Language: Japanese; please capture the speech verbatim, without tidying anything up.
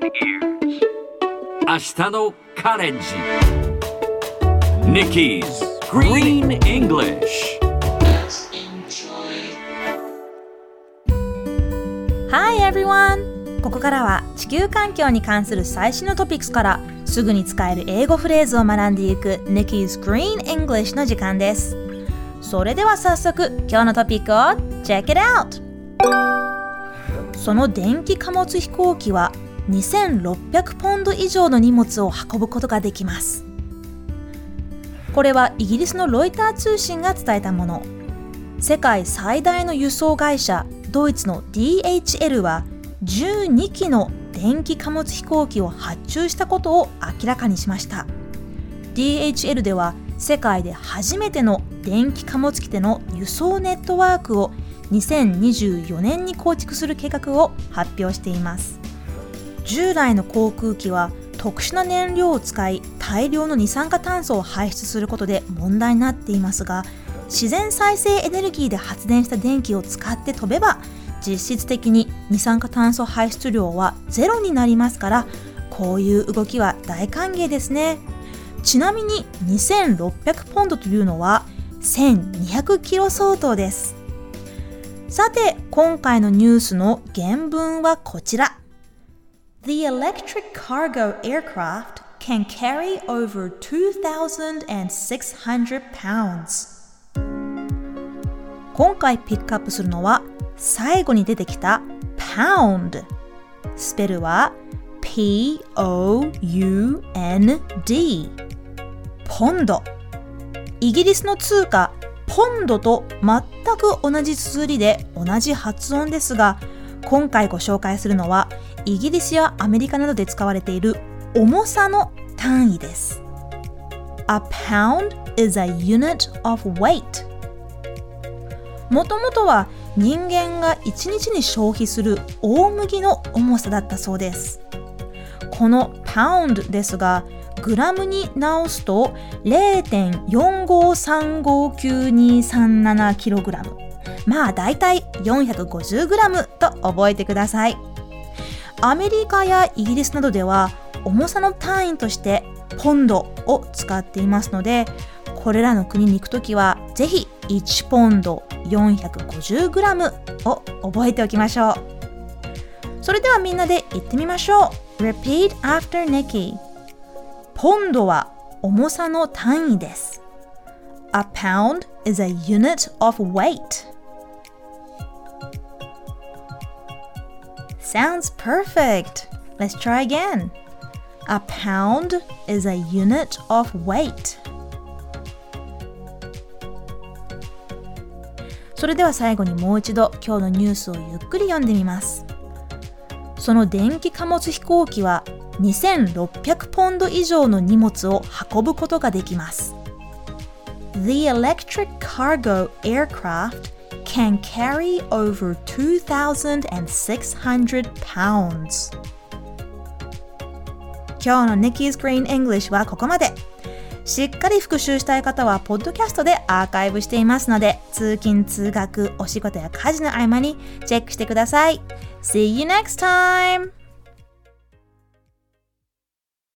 ears. 明日のカレンジ Nikki's Green English. Hi everyone! ここからは地球環境に関する最新のトピックスからすぐに使える英語フレーズを学んでいく Nikki's Green English の時間です。それでは早速今日のトピックを Check it out! その電気貨物飛行機はにせんろっぴゃくポンド以上の荷物を運ぶことができます。これはイギリスのロイター通信が伝えたもの。世界最大の輸送会社ドイツの ディーエイチエル はじゅうにきの電気貨物飛行機を発注したことを明らかにしました。 ディーエイチエル では世界で初めての電気貨物機での輸送ネットワークをにせんにじゅうよねんに構築する計画を発表しています。従来の航空機は特殊な燃料を使い大量の二酸化炭素を排出することで問題になっていますが、自然再生エネルギーで発電した電気を使って飛べば実質的に二酸化炭素排出量はゼロになりますから、こういう動きは大歓迎ですね。ちなみににせんろっぴゃくポンドというのはせんにひゃくキロ相当です。さて今回のニュースの原文はこちら。 The electric cargo aircraft can carry over two thousand six hundred pounds。 今回ピックアップするのは最後に出てきた pound。 スペルは ピーオーユーエヌディー ポンド。イギリスの通貨ポンドと全く同じ綴りで同じ発音ですが、今回ご紹介するのはイギリスやアメリカなどで使われている重さの単位です。 A pound is a unit of weight。 もともとは人間がいちにちに消費する大麦の重さだったそうです。この pound ですがグラムに直すと ゼロてんよんごさんごきゅうにさんななキログラム、まあだいたいよんひゃくごじゅうグラムと覚えてください。アメリカやイギリスなどでは重さの単位としてポンドを使っていますので、これらの国に行くときはぜひいちポンドよんひゃくごじゅうグラムを覚えておきましょう。それではみんなで言ってみましょう。 Repeat after Nikki。 ポンドは重さの単位です。 A pound is a unit of weight。 Sounds perfect. Let's try again. A pound is a unit of weight。 それでは最後にもう一度今日のニュースをゆっくり読んでみます。その電気貨物飛行機はにせんろっぴゃくポンド以上の荷物を運ぶことができます。 The electric cargo aircraft can carry over two thousand six hundred pounds。 今日の Nikki's Green English はここまで。しっかり復習したい方はポッドキャストでアーカイブしていますので、通勤通学お仕事や家事の合間にチェックしてください。See you next time!